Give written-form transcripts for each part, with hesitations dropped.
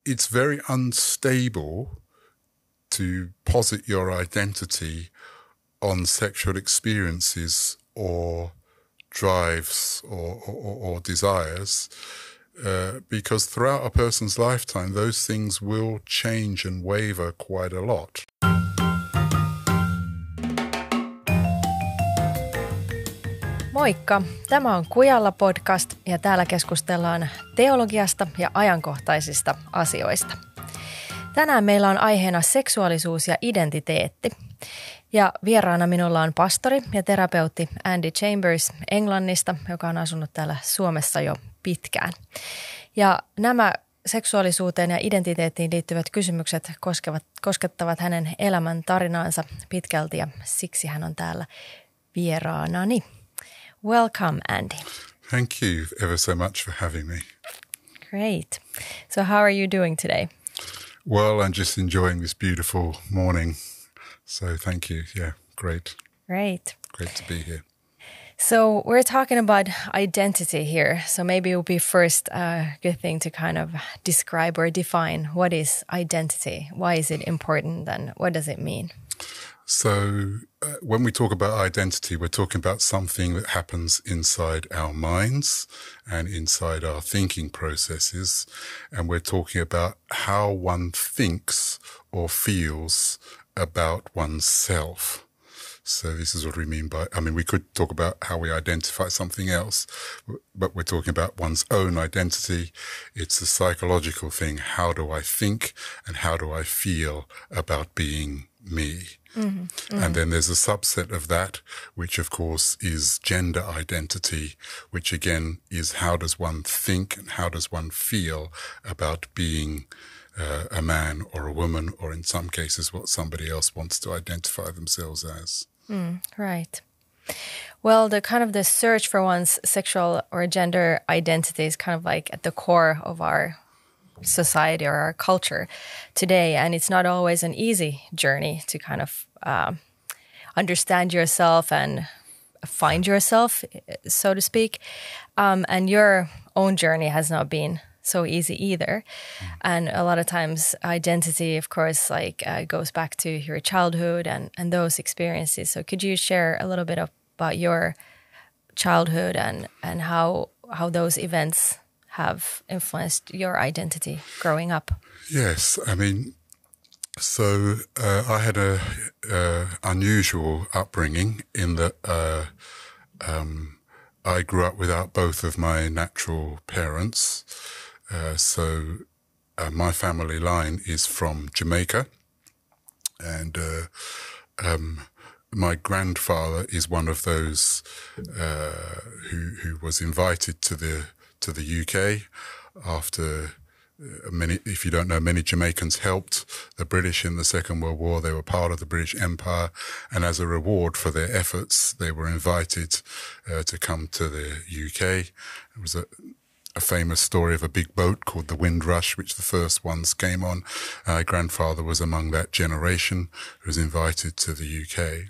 it's very unstable to posit your identity on sexual experiences or drives or desires, because throughout a person's lifetime, those things will change and waver quite a lot. Moikka! Tämä on Kujalla podcast ja täällä keskustellaan teologiasta ja ajankohtaisista asioista. Tänään meillä on aiheena seksuaalisuus ja identiteetti. Ja vieraana minulla on pastori ja terapeutti Andy Chambers Englannista, joka on asunut täällä Suomessa jo pitkään. Ja nämä seksuaalisuuteen ja identiteettiin liittyvät kysymykset koskettavat hänen elämän tarinaansa pitkälti ja siksi hän on täällä vieraanani. Welcome, Andy. Thank you ever so much for having me. Great. So how are you doing today? Well, I'm just enjoying this beautiful morning. So thank you. Yeah, great. Great. Great to be here. So we're talking about identity here. So maybe it would be first a good thing to kind of describe or define what is identity? Why is it important and what does it mean? So when we talk about identity, we're talking about something that happens inside our minds and inside our thinking processes. And we're talking about how one thinks or feels about oneself. So this is what we mean by, we could talk about how we identify something else, but we're talking about one's own identity. It's a psychological thing. How do I think and how do I feel about being me? Mm-hmm. Mm-hmm. And then there's a subset of that, which of course is gender identity, which again is how does one think and how does one feel about being a man or a woman, or in some cases what somebody else wants to identify themselves as. Right. Well, the search for one's sexual or gender identity is kind of like at the core of our society or our culture today. And it's not always an easy journey to kind of understand yourself and find yourself, so to speak. And your own journey has not been so easy either. And a lot of times identity, of course, goes back to your childhood and those experiences. So could you share a little bit about your childhood and how those events have influenced your identity growing up? Yes, so I had a unusual upbringing in that I grew up without both of my natural parents. So my family line is from Jamaica, and my grandfather is one of those who was invited to the UK after if you don't know, many Jamaicans helped the British in the Second World War. They were part of the British Empire, and as a reward for their efforts, they were invited to come to the UK. It was a famous story of a big boat called the Windrush, which the first ones came on. My grandfather was among that generation who was invited to the UK.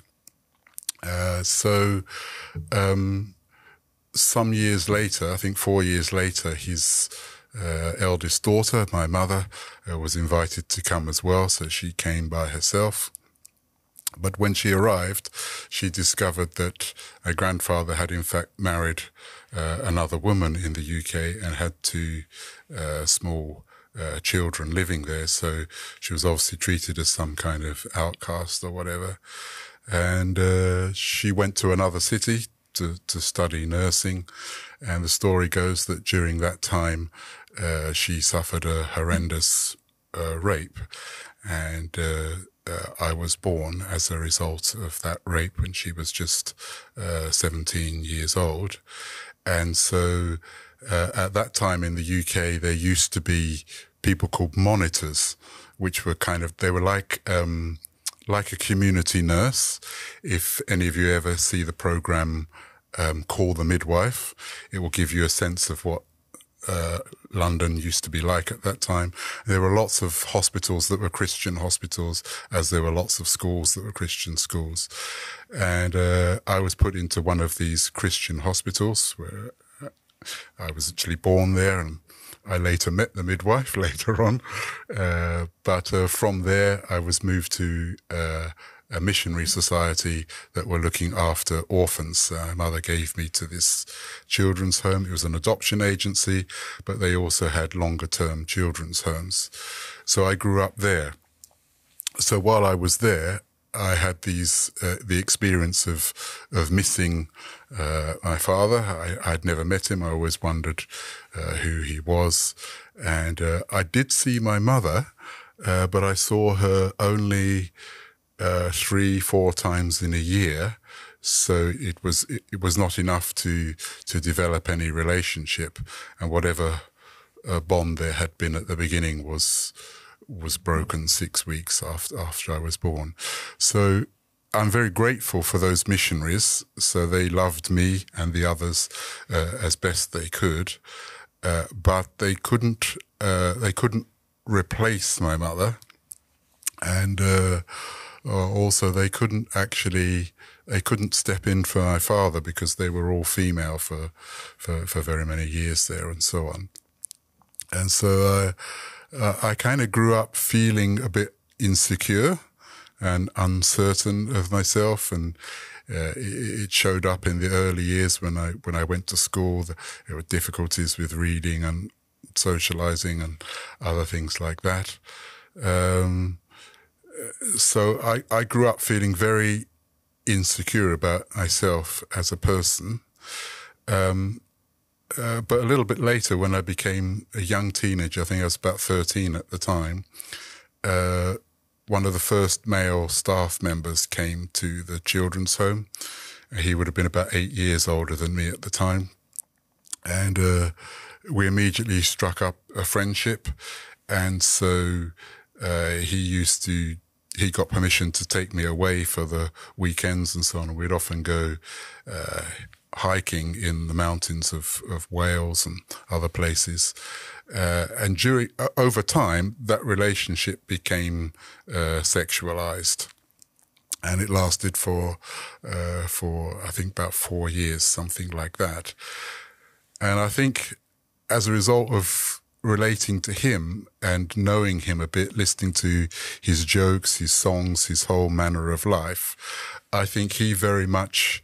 Some years later, I think 4 years later, his eldest daughter, my mother, was invited to come as well, so she came by herself. But when she arrived, she discovered that her grandfather had in fact married another woman in the UK and had two small children living there. So she was obviously treated as some kind of outcast or whatever. And she went to another city to study nursing. And the story goes that during that time, she suffered a horrendous rape. And I was born as a result of that rape when she was just 17 years old. And so at that time in the UK, there used to be people called monitors, which were they were like a community nurse. If any of you ever see the program Call the Midwife, it will give you a sense of what London used to be like at that time. There were lots of hospitals that were Christian hospitals, as there were lots of schools that were Christian schools. And I was put into one of these Christian hospitals where I was actually born there, and I later met the midwife later on. But from there, I was moved to a missionary society that were looking after orphans. My mother gave me to this children's home. It was an adoption agency, but they also had longer-term children's homes. So I grew up there. So while I was there, I had the experience of missing my father. I'd never met him. I always wondered who he was. And I did see my mother, but I saw her only 3-4 times in a year. So it was not enough to develop any relationship, and whatever bond there had been at the beginning was broken 6 weeks after I was born. So I'm very grateful for those missionaries. So they loved me and the others as best they could, but they couldn't replace my mother, and also they couldn't step in for my father because they were all female for very many years there and so on. And so I kind of grew up feeling a bit insecure and uncertain of myself, and it showed up in the early years when I went to school. There were difficulties with reading and socializing and other things like that. So I grew up feeling very insecure about myself as a person. But a little bit later, when I became a young teenager, I think I was about 13 at the time, one of the first male staff members came to the children's home. He would have been about 8 years older than me at the time. And we immediately struck up a friendship. And so he got permission to take me away for the weekends and so on. And we'd often go hiking in the mountains of Wales and other places. And over time, that relationship became sexualized. And it lasted for I think about 4 years, something like that. And I think as a result of relating to him and knowing him a bit, listening to his jokes, his songs, his whole manner of life, I think he very much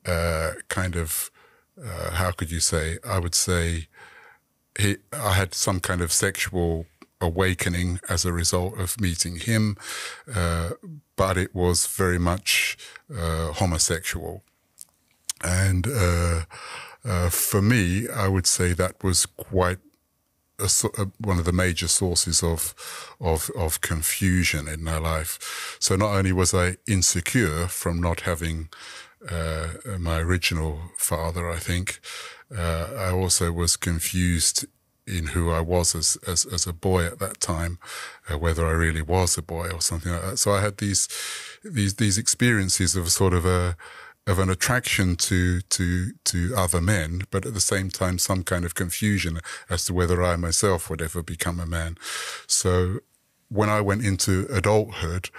how could you say? I would say I had some kind of sexual awakening as a result of meeting him, but it was very much homosexual. And for me, I would say that was quite one of the major sources of confusion in my life. So not only was I insecure from not having my original father, I think, I also was confused in who I was as a boy at that time, whether I really was a boy or something like that. So I had these experiences of sort of an attraction to other men, but at the same time some kind of confusion as to whether I myself would ever become a man. So when I went into adulthood,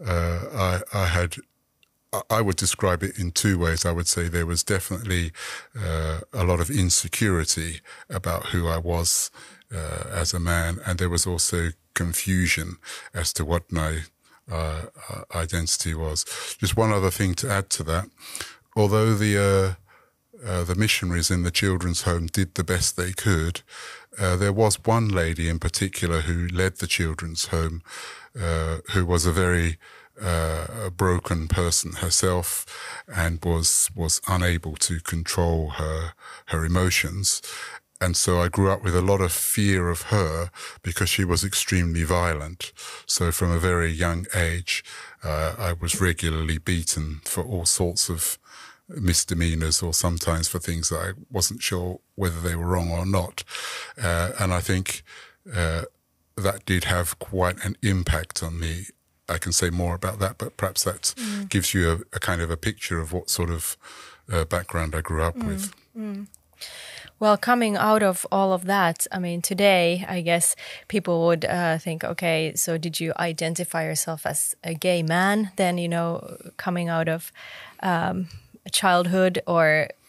I would describe it in two ways. I would say there was definitely a lot of insecurity about who I was as a man, and there was also confusion as to what my identity was. Just one other thing to add to that. Although the missionaries in the children's home did the best they could, there was one lady in particular who led the children's home, who was a very broken person herself and was unable to control her emotions. And so I grew up with a lot of fear of her because she was extremely violent. So from a very young age, I was regularly beaten for all sorts of misdemeanors, or sometimes for things that I wasn't sure whether they were wrong or not. And I think that did have quite an impact on me. I can say more about that, but perhaps that gives you a kind of a picture of what sort of background I grew up with. Well, coming out of all of that, I mean, today, I guess people would think, okay, so did you identify yourself as a gay man then, coming out of childhood, or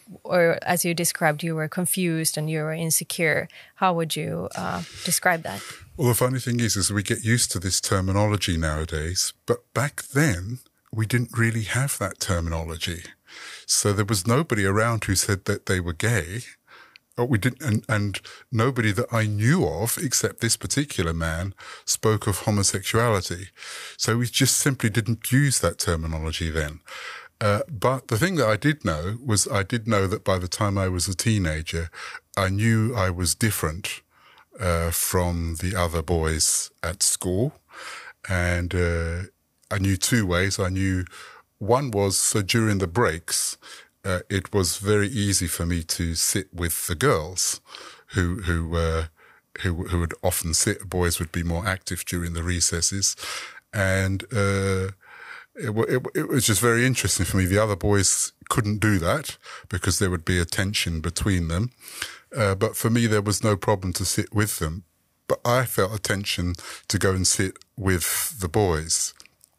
or as you described, you were confused and you were insecure. How would you describe that? Well, the funny thing is we get used to this terminology nowadays, but back then we didn't really have that terminology. So there was nobody around who said that they were gay. We didn't, and nobody that I knew of, except this particular man, spoke of homosexuality. So we just simply didn't use that terminology then. But the thing that I did know was I did know that by the time I was a teenager, I knew I was different from the other boys at school. And I knew two ways. I knew one was, so during the breaks, it was very easy for me to sit with the girls who would often sit. Boys would be more active during the recesses. And it was just very interesting for me. The other boys couldn't do that because there would be a tension between them. But for me, there was no problem to sit with them. But I felt a tension to go and sit with the boys.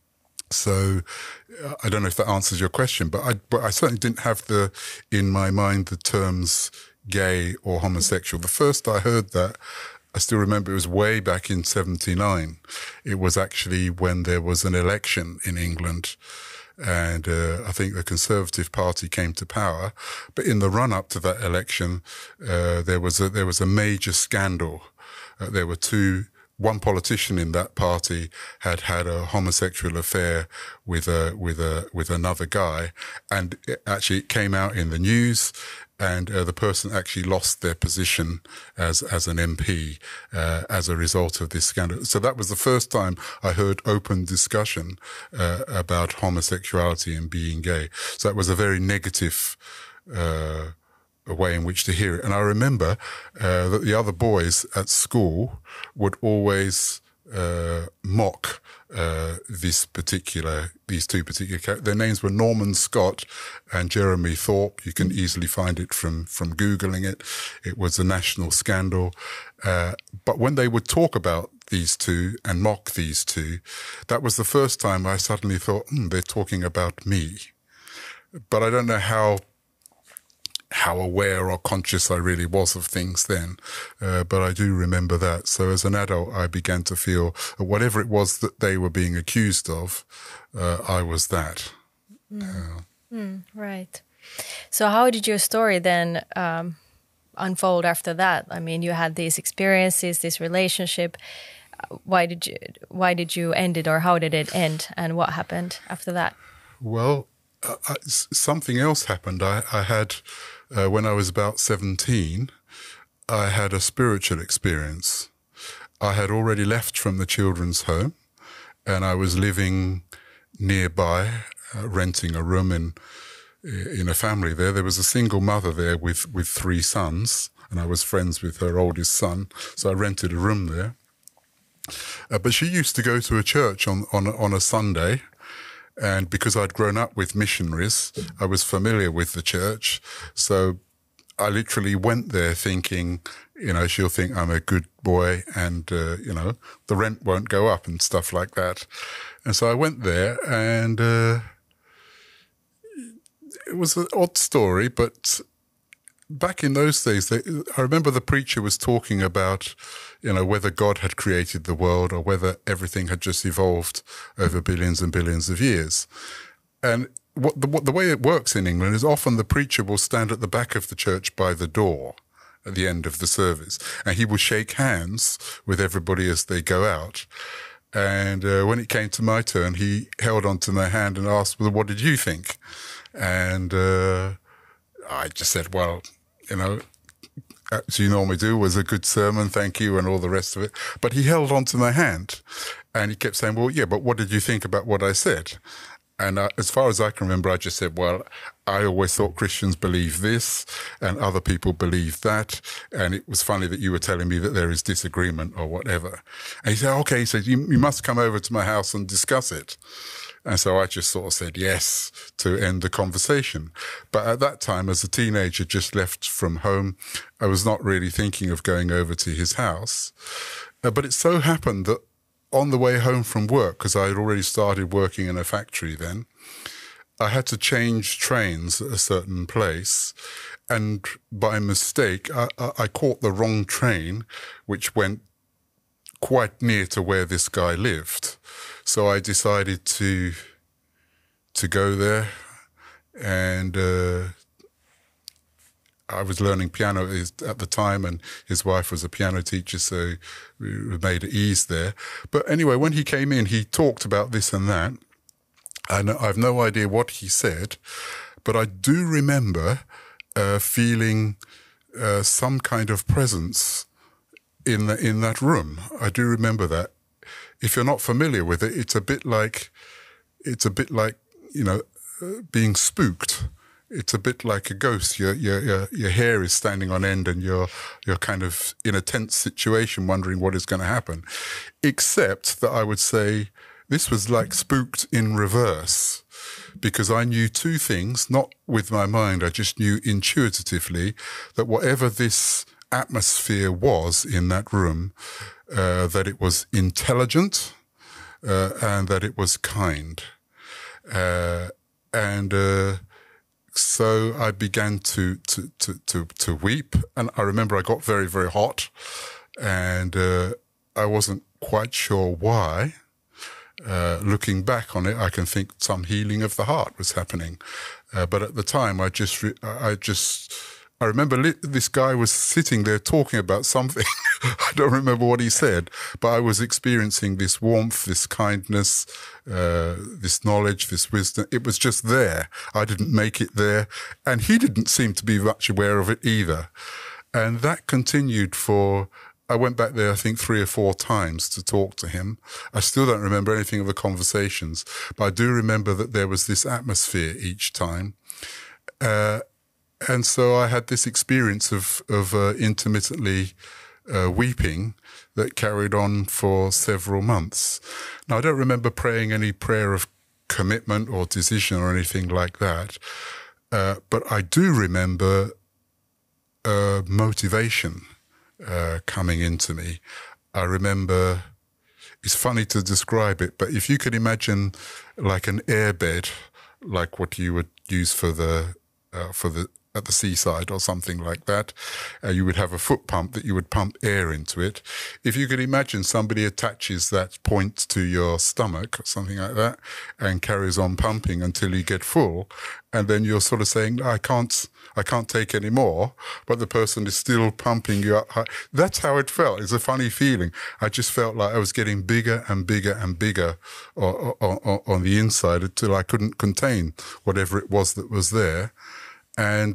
So I don't know if that answers your question, but I certainly didn't have in my mind the terms gay or homosexual. The first I heard that, I still remember it was way back in 1979. It was actually when there was an election in England, and I think the Conservative Party came to power. But in the run-up to that election, there was a major scandal. There were one politician in that party had a homosexual affair with another guy, and it came out in the news, and the person actually lost their position as an MP as a result of this scandal. So that was the first time I heard open discussion about homosexuality and being gay. So that was a very negative a way in which to hear it. And I remember that the other boys at school would always mock these two particular characters. Their names were Norman Scott and Jeremy Thorpe. You can easily find it from Googling it. It was a national scandal. But when they would talk about these two and mock these two, that was the first time I suddenly thought, they're talking about me. But I don't know how aware or conscious I really was of things then. But I do remember that. So as an adult, I began to feel that whatever it was that they were being accused of, I was that. Right. So how did your story then unfold after that? I mean, you had these experiences, this relationship. Why did you end it, or how did it end, and what happened after that? Well, something else happened. I had, when I was about 17, I had a spiritual experience. I had already left from the children's home, and I was living nearby, renting a room in a family there. There was a single mother there with 3 sons, and I was friends with her oldest son, so I rented a room there. But she used to go to a church on a Sunday. And because I'd grown up with missionaries, I was familiar with the church. So I literally went there thinking, she'll think I'm a good boy and, the rent won't go up and stuff like that. And so I went there, and it was an odd story, but back in those days, I remember the preacher was talking about, whether God had created the world or whether everything had just evolved over billions and billions of years. And the way it works in England is often the preacher will stand at the back of the church by the door at the end of the service, and he will shake hands with everybody as they go out. And when it came to my turn, he held onto my hand and asked, well, what did you think? And I just said, well, as you normally do, was a good sermon, thank you, and all the rest of it. But he held on to my hand, and he kept saying, well, yeah, but what did you think about what I said? And as far as I can remember, I just said, well, I always thought Christians believe this, and other people believe that, and it was funny that you were telling me that there is disagreement or whatever. And he said, okay, he said, you must come over to my house and discuss it. And so I just sort of said yes to end the conversation. But at that time, as a teenager just left from home, I was not really thinking of going over to his house. But it so happened that on the way home from work, because I had already started working in a factory then, I had to change trains at a certain place, and by mistake, I caught the wrong train, which went quite near to where this guy lived. So I decided to go there, and I was learning piano at the time, and his wife was a piano teacher, so we made it ease there. But anyway, when he came in, he talked about this and that, and I've no idea what he said, but I do remember feeling some kind of presence in that room. I do remember that. If you're not familiar with it, it's a bit like being spooked. It's a bit like a ghost. Your hair is standing on end, and you're kind of in a tense situation, wondering what is going to happen. Except that I would say this was like spooked in reverse, because I knew two things, not with my mind. I just knew intuitively that whatever this atmosphere was in that room, that it was intelligent and that it was kind, so I began to weep, and I remember I got very, very hot, and I wasn't quite sure why. Looking back on it, I can think some healing of the heart was happening, but at the time, I remember this guy was sitting there talking about something. I don't remember what he said, but I was experiencing this warmth, this kindness, this knowledge, this wisdom. It was just there. I didn't make it there, and he didn't seem to be much aware of it either. And that continued I went back there, I think, 3 or 4 times to talk to him. I still don't remember anything of the conversations, but I do remember that there was this atmosphere each time. And so I had this experience of intermittently weeping that carried on for several months. Now, I don't remember praying any prayer of commitment or decision or anything like that, but I do remember motivation coming into me. I remember, it's funny to describe it, but if you could imagine like an airbed, like what you would use at the seaside or something like that, you would have a foot pump that you would pump air into it. If you could imagine somebody attaches that point to your stomach or something like that and carries on pumping until you get full, and then you're sort of saying, I can't take any more, but the person is still pumping you up high. That's how it felt. It's a funny feeling. I just felt like I was getting bigger and bigger and bigger on the inside until I couldn't contain whatever it was that was there. And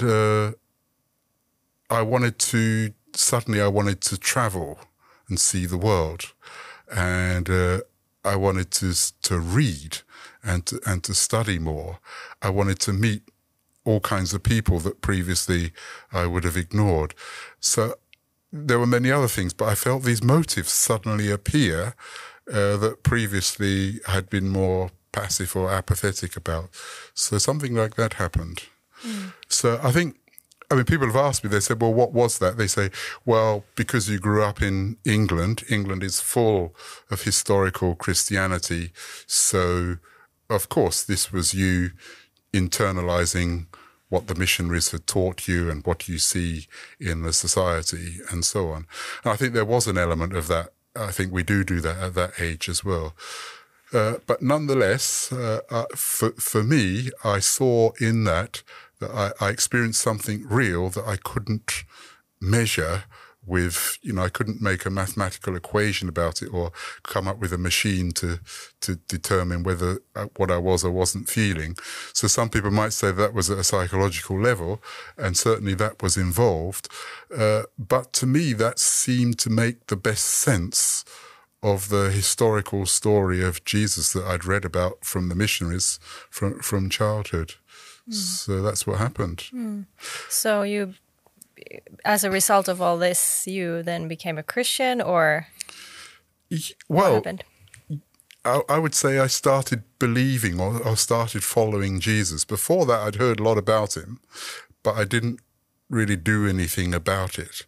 I wanted to travel and see the world. And I wanted to read and to study more. I wanted to meet all kinds of people that previously I would have ignored. So there were many other things, but I felt these motives suddenly appear that previously had been more passive or apathetic about. So something like that happened. So I mean, people have asked me, they said, well, what was that? They say, well, because you grew up in England is full of historical Christianity. So, of course, this was you internalizing what the missionaries had taught you and what you see in the society and so on. And I think there was an element of that. I think we do that at that age as well. But nonetheless, for me, I saw in that I experienced something real that I couldn't measure with, I couldn't make a mathematical equation about it or come up with a machine to determine whether what I was or wasn't feeling. So some people might say that was at a psychological level, and certainly that was involved. But to me, that seemed to make the best sense of the historical story of Jesus that I'd read about from the missionaries from childhood. So that's what happened. So you, as a result of all this, you then became a Christian, or what happened? I would say I started believing or started following Jesus. Before that, I'd heard a lot about him, but I didn't really do anything about it.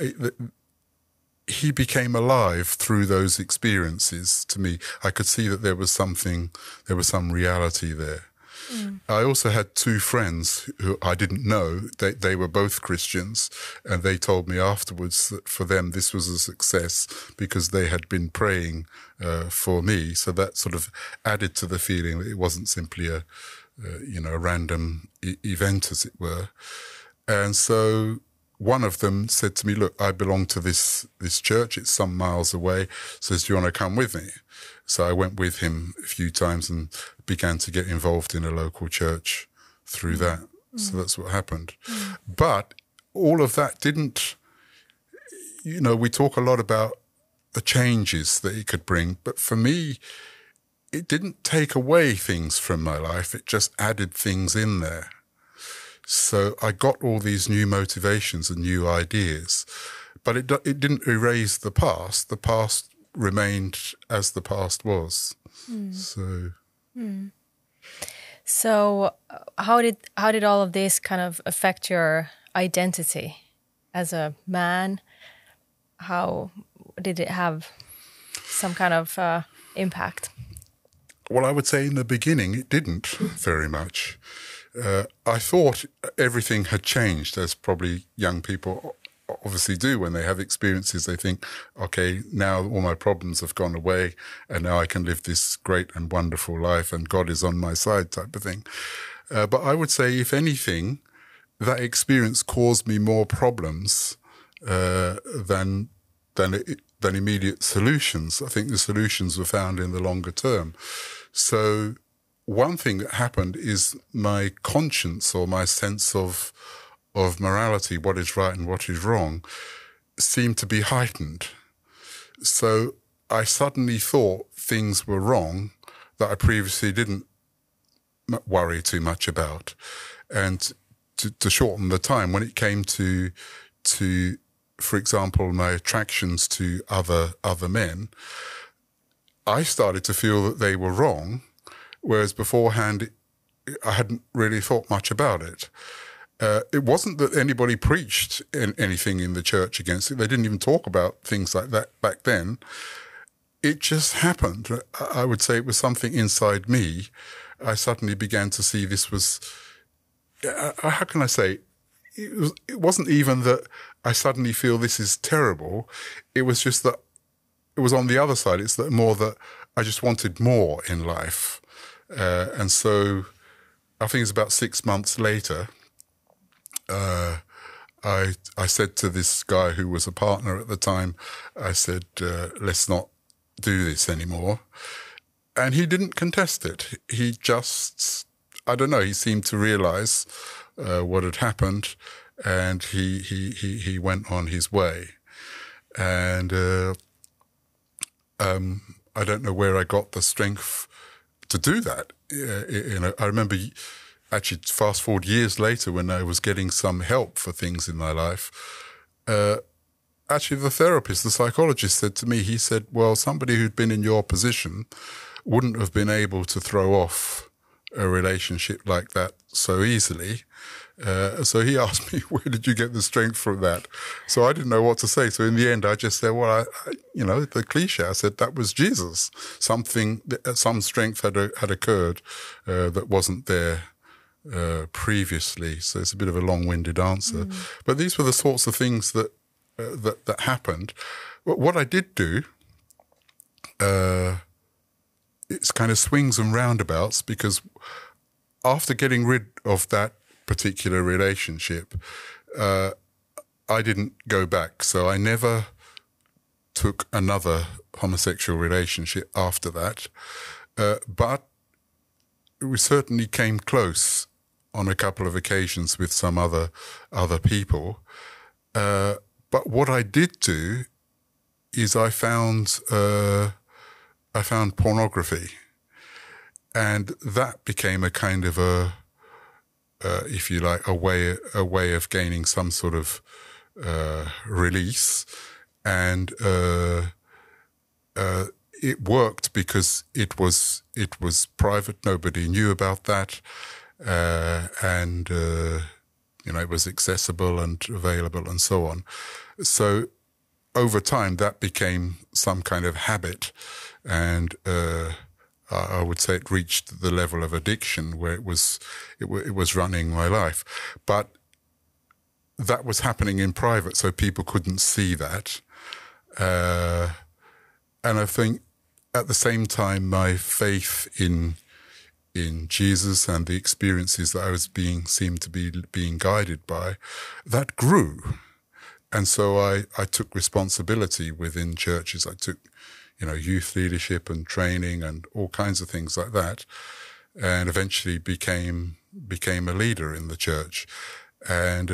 He became alive through those experiences to me. I could see that there was some reality there. I also had two friends who I didn't know. They were both Christians, and they told me afterwards that for them this was a success because they had been praying for me. So that sort of added to the feeling that it wasn't simply a random event, as it were. And so one of them said to me, look, I belong to this church. It's some miles away. Says, do you want to come with me? So I went with him a few times and began to get involved in a local church through that. So that's what happened. But all of that didn't, we talk a lot about the changes that it could bring. But for me, it didn't take away things from my life. It just added things in there. So I got all these new motivations and new ideas, but it didn't erase the past. The past remained as the past was. So how did all of this kind of affect your identity as a man? How did it have some kind of impact? Well, I would say in the beginning it didn't very much. I thought everything had changed, as probably young people obviously do when they have experiences. They think, okay, now all my problems have gone away and now I can live this great and wonderful life and God is on my side type of thing. But I would say, if anything, that experience caused me more problems than immediate solutions. I think the solutions were found in the longer term. So one thing that happened is my conscience, or my sense of morality, what is right and what is wrong, seemed to be heightened. So I suddenly thought things were wrong that I previously didn't worry too much about. And to shorten the time, when it came to for example, my attractions to other men, I started to feel that they were wrong, whereas beforehand I hadn't really thought much about it. It wasn't that anybody preached anything in the church against it. They didn't even talk about things like that back then. It just happened. I would say it was something inside me. I suddenly began to see this was, how can I say, it wasn't even that I suddenly feel this is terrible. It was just that it was on the other side. It's that more that I just wanted more in life. And so I think it's about 6 months later, I said to this guy who was a partner at the time, I said, let's not do this anymore. And he didn't contest it. He just, I don't know, he seemed to realize what had happened, and he went on his way. And I don't know where I got the strength to do that. I remember, actually, fast forward years later, when I was getting some help for things in my life, actually the therapist, the psychologist, said to me, he said, well, somebody who'd been in your position wouldn't have been able to throw off a relationship like that so easily. So he asked me, where did you get the strength from that? So I didn't know what to say. So in the end, I just said, well, the cliche, I said, that was Jesus. Some strength had occurred that wasn't there previously. So it's a bit of a long-winded answer. But these were the sorts of things that happened. What I did do, it's kind of swings and roundabouts, because after getting rid of that particular relationship, I didn't go back. So I never took another homosexual relationship after that. But we certainly came close on a couple of occasions with some other people. But what I did do is I found pornography, and that became a kind of if you like, a way of gaining some sort of release, and it worked because it was private. Nobody knew about that, and it was accessible and available and so on. So over time, that became some kind of habit, and I would say it reached the level of addiction where it was running my life. But that was happening in private, so people couldn't see that. And I think at the same time, my faith in Jesus and the experiences that I was seemed to be being guided by, that grew. And so I took responsibility within churches. I took, youth leadership and training and all kinds of things like that, and eventually became a leader in the church. And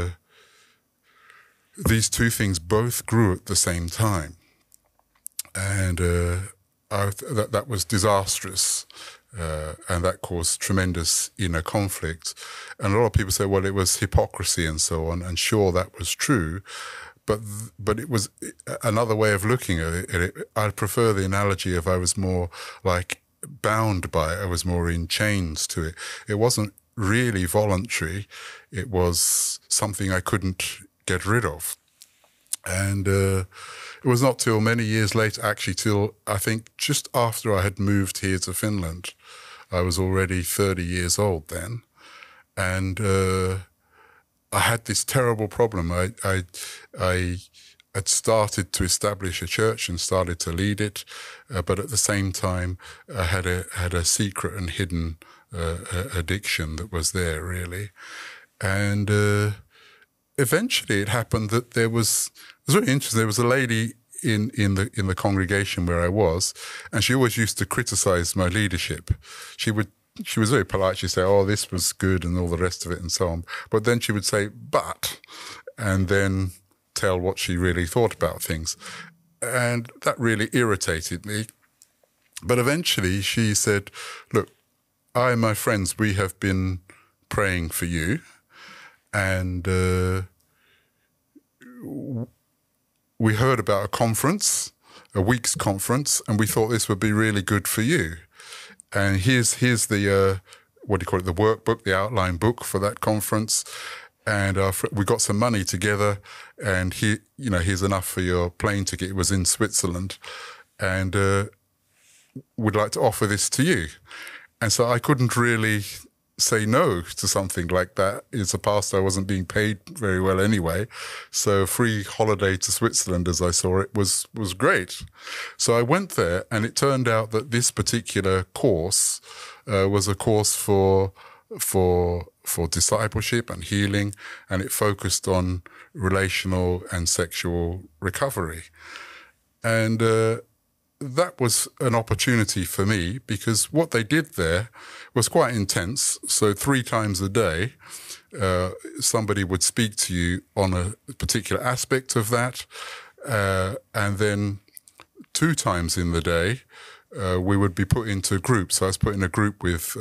these two things both grew at the same time. And that was disastrous. And that caused tremendous inner conflict. And a lot of people say, well, it was hypocrisy and so on. And sure, that was true. But it was another way of looking at it. I prefer the analogy of I was more like bound by it. I was more in chains to it. It wasn't really voluntary. It was something I couldn't get rid of. And it was not till many years later, actually till I think just after I had moved here to Finland. I was already 30 years old then. And I had this terrible problem. I had started to establish a church and started to lead it, but at the same time, I had a secret and hidden addiction that was there, really. And eventually, it happened that it was really interesting. There was a lady in the congregation where I was, and she always used to criticize my leadership. She was very polite. She'd say, "Oh, this was good," and all the rest of it, and so on. But then she would say, "But," and then tell what she really thought about things. And that really irritated me. But eventually she said, "Look, I and my friends, we have been praying for you, and we heard about a conference, a week's conference, and we thought this would be really good for you. And here's the, the workbook, the outline book for that conference. And we got some money together, and here's enough for your plane ticket." It was in Switzerland. And we'd like to offer this to you. And so I couldn't really say no to something like that. As a pastor, I wasn't being paid very well anyway. So a free holiday to Switzerland, as I saw it, was great. So I went there, and it turned out that this particular course was a course for discipleship and healing, and it focused on relational and sexual recovery. And that was an opportunity for me, because what they did there was quite intense. So 3 times a day, somebody would speak to you on a particular aspect of that. And then 2 times in the day, we would be put into groups. So I was put in a group with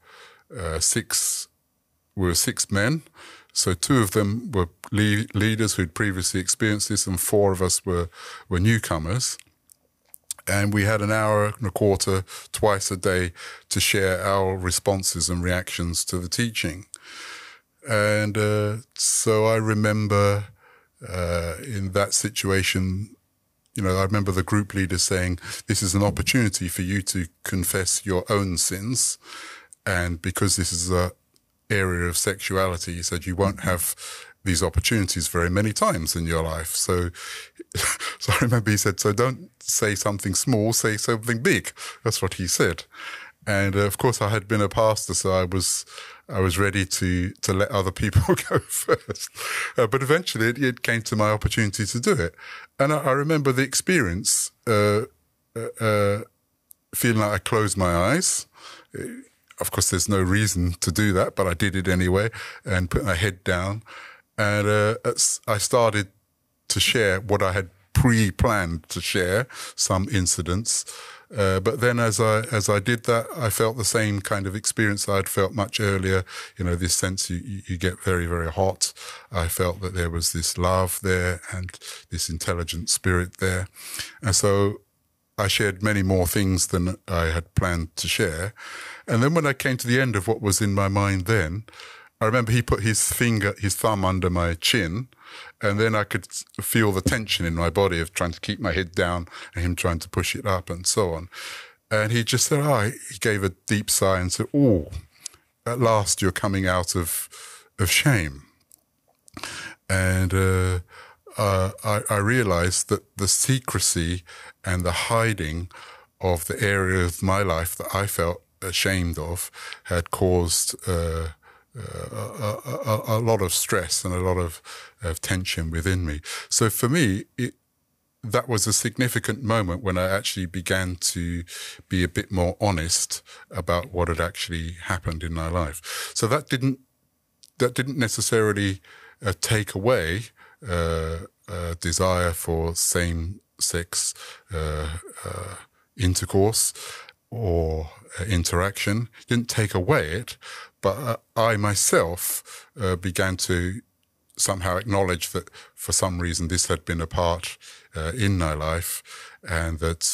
6 men. So 2 of them were leaders who'd previously experienced this, and 4 of us were newcomers. And we had an hour and a quarter twice a day to share our responses and reactions to the teaching. And so I remember in that situation, I remember the group leader saying, "This is an opportunity for you to confess your own sins. And because this is an area of sexuality," he said, "you won't have these opportunities very many times in your life." So I remember he said, "So don't say something small, say something big." That's what he said. And of course, I had been a pastor, so I was ready to let other people go first. But eventually, it came to my opportunity to do it. And I remember the experience, feeling like I closed my eyes. Of course, there's no reason to do that, but I did it anyway, and put my head down. And I started to share what I had pre-planned to share, some incidents. But then as I did that, I felt the same kind of experience I'd felt much earlier, this sense you get very, very hot. I felt that there was this love there and this intelligent spirit there. And so I shared many more things than I had planned to share. And then when I came to the end of what was in my mind then, I remember he put his thumb under my chin, and then I could feel the tension in my body of trying to keep my head down and him trying to push it up and so on. And he just said, he gave a deep sigh and said, "Oh, at last you're coming out of shame." And I realized that the secrecy and the hiding of the area of my life that I felt ashamed of had caused a lot of stress and a lot of tension within me. So for me, that was a significant moment when I actually began to be a bit more honest about what had actually happened in my life. So that didn't necessarily take away desire for same-sex intercourse or interaction. Didn't take away it, but I myself began to somehow acknowledge that for some reason this had been a part in my life, and that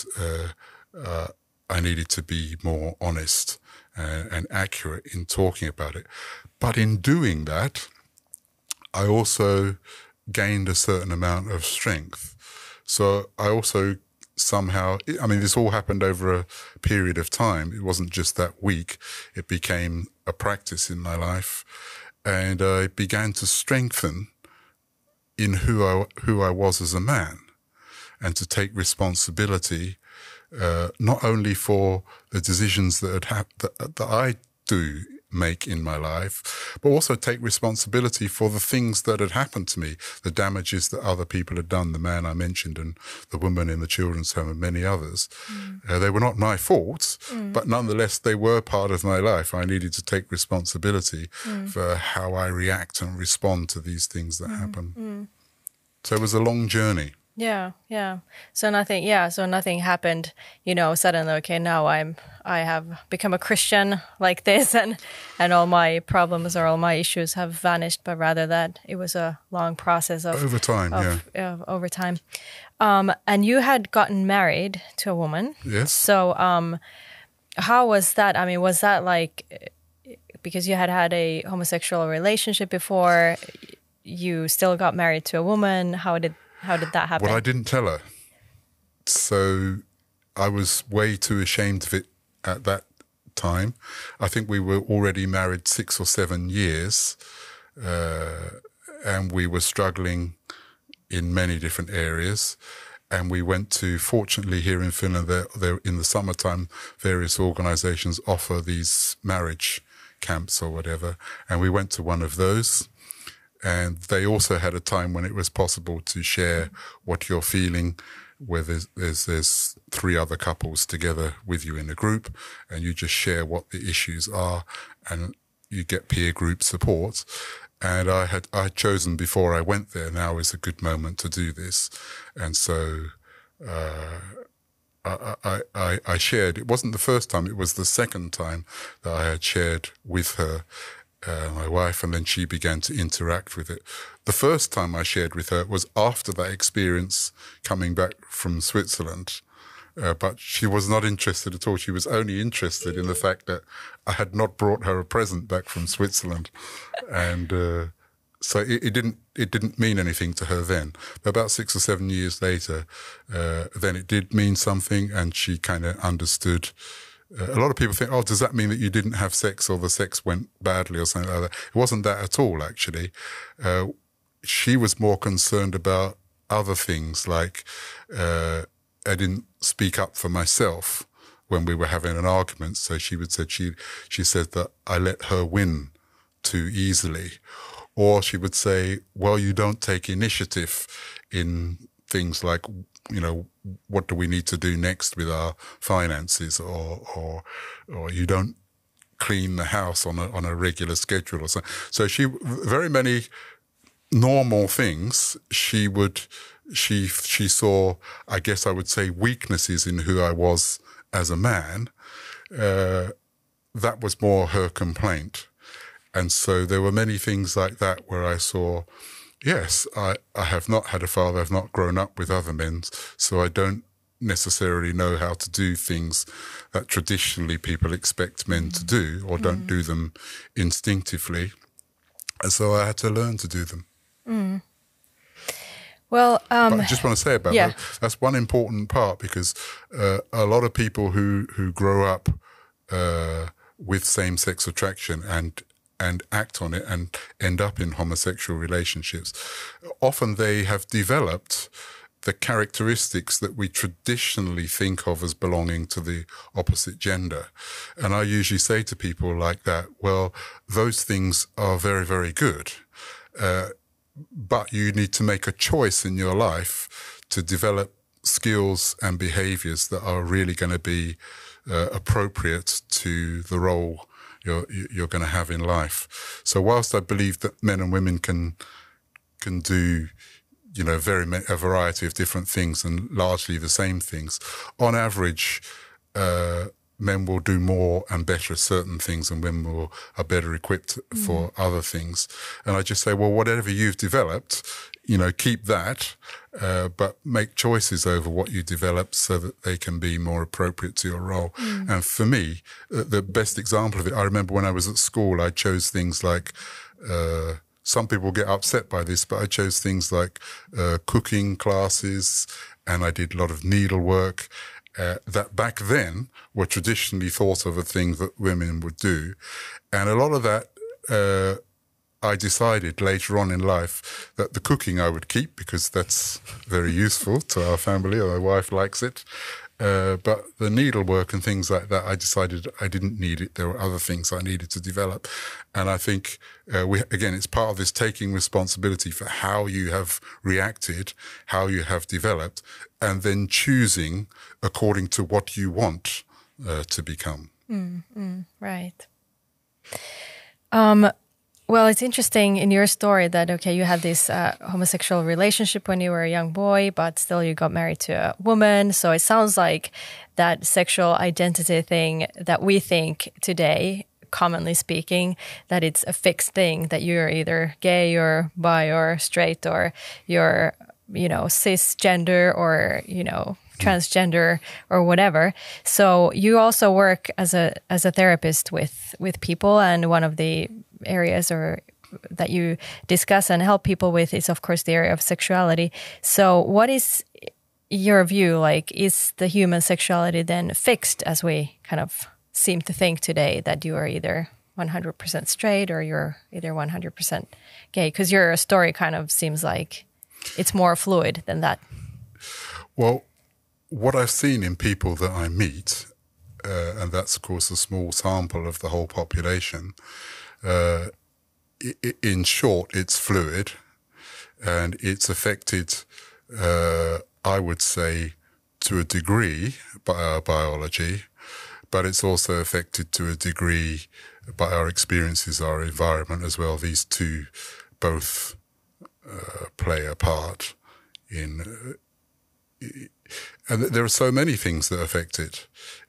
I needed to be more honest and accurate in talking about it. But in doing that, I also gained a certain amount of strength. So I also somehow, I mean, this all happened over a period of time. It wasn't just that week. It became a practice in my life. And I began to strengthen in who I was as a man, and to take responsibility, not only for the decisions that I do make in my life, but also take responsibility for the things that had happened to me, the damages that other people had done, the man I mentioned and the woman in the children's home and many others. They were not my fault, but nonetheless, they were part of my life. I needed to take responsibility for how I react and respond to these things that happen. So it was a long journey. Yeah. So nothing happened, suddenly, okay, now I have become a Christian like this, and all my problems or all my issues have vanished, but rather that it was a long process of over time. Over time. And you had gotten married to a woman. Yes. So how was that? I mean, was that like, because you had a homosexual relationship before, you still got married to a woman? How did that happen? Well, I didn't tell her. So I was way too ashamed of it at that time. I think we were already married 6 or 7 years, and we were struggling in many different areas. And we went to, fortunately here in Finland, there in the summertime, various organizations offer these marriage camps or whatever. And we went to one of those. And they also had a time when it was possible to share what you're feeling, where there's 3 other couples together with you in a group, and you just share what the issues are, and you get peer group support. And I had chosen before I went there, now is a good moment to do this. And so I shared. It wasn't the first time, it was the second time that I had shared with her, my wife, and then she began to interact with it. The first time I shared with her was after that experience coming back from Switzerland, but she was not interested at all. She was only interested in the fact that I had not brought her a present back from Switzerland, and so it didn't mean anything to her then. But about 6 or 7 years later, then it did mean something, and she kind of understood. A lot of people think, does that mean that you didn't have sex or the sex went badly or something like that? It wasn't that at all, actually. She was more concerned about other things, like I didn't speak up for myself when we were having an argument. So she said that I let her win too easily. Or she would say, well, you don't take initiative in things like, what do we need to do next with our finances, or you don't clean the house on a regular schedule or something. So very many normal things she saw, I guess I would say, weaknesses in who I was as a man. That was more her complaint. And so there were many things like that where I saw, yes, I have not had a father, I've not grown up with other men, so I don't necessarily know how to do things that traditionally people expect men to do, or don't do them instinctively. And so I had to learn to do them. Well, but I just want to say about yeah. that, that's one important part, because a lot of people who grow up with same-sex attraction and act on it and end up in homosexual relationships, often they have developed the characteristics that we traditionally think of as belonging to the opposite gender. And I usually say to people like that, well, those things are very, very good. But you need to make a choice in your life to develop skills and behaviors that are really going to be appropriate to the role you're going to have in life. So whilst I believe that men and women can do, a variety of different things and largely the same things, on average, men will do more and better at certain things, and women are better equipped for other things. And I just say, well, whatever you've developed, keep that, but make choices over what you develop so that they can be more appropriate to your role. And for me, the best example of it, I remember when I was at school, I chose things like, some people get upset by this, but I chose things like cooking classes, and I did a lot of needlework. That back then were traditionally thought of a thing that women would do. And a lot of that, I decided later on in life that the cooking I would keep, because that's very useful to our family, or my wife likes it. But the needlework and things like that, I decided I didn't need it. There were other things I needed to develop. And I think, it's part of this taking responsibility for how you have reacted, how you have developed, and then choosing according to what you want to become. Right. Well, it's interesting in your story that, you had this homosexual relationship when you were a young boy, but still you got married to a woman. So it sounds like that sexual identity thing that we think today, commonly speaking, that it's a fixed thing, that you're either gay or bi or straight, or you're, cisgender or, transgender or whatever. So you also work as a therapist with people, and one of the areas that you discuss and help people with is, of course, the area of sexuality. So what is your view? Like, is the human sexuality then fixed, as we kind of seem to think today, that you are either 100% straight or you're either 100% gay? Because your story kind of seems like it's more fluid than that. Well, what I've seen in people that I meet, and that's, of course, a small sample of the whole population, in short, it's fluid, and it's affected, I would say, to a degree by our biology, but it's also affected to a degree by our experiences, our environment as well. These two both play a part in... And there are so many things that affect it.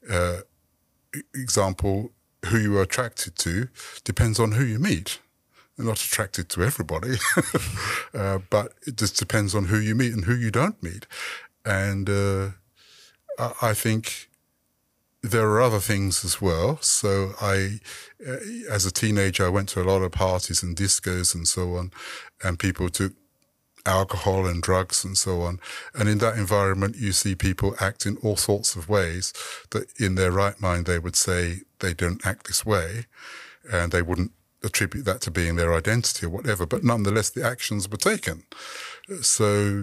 Example, who you are attracted to depends on who you meet. You're not attracted to everybody, but it just depends on who you meet and who you don't meet. And I think there are other things as well. So as a teenager, I went to a lot of parties and discos and so on, and people took alcohol and drugs and so on. And in that environment, you see people act in all sorts of ways that in their right mind, they would say they don't act this way, and they wouldn't attribute that to being their identity or whatever. But nonetheless, the actions were taken. So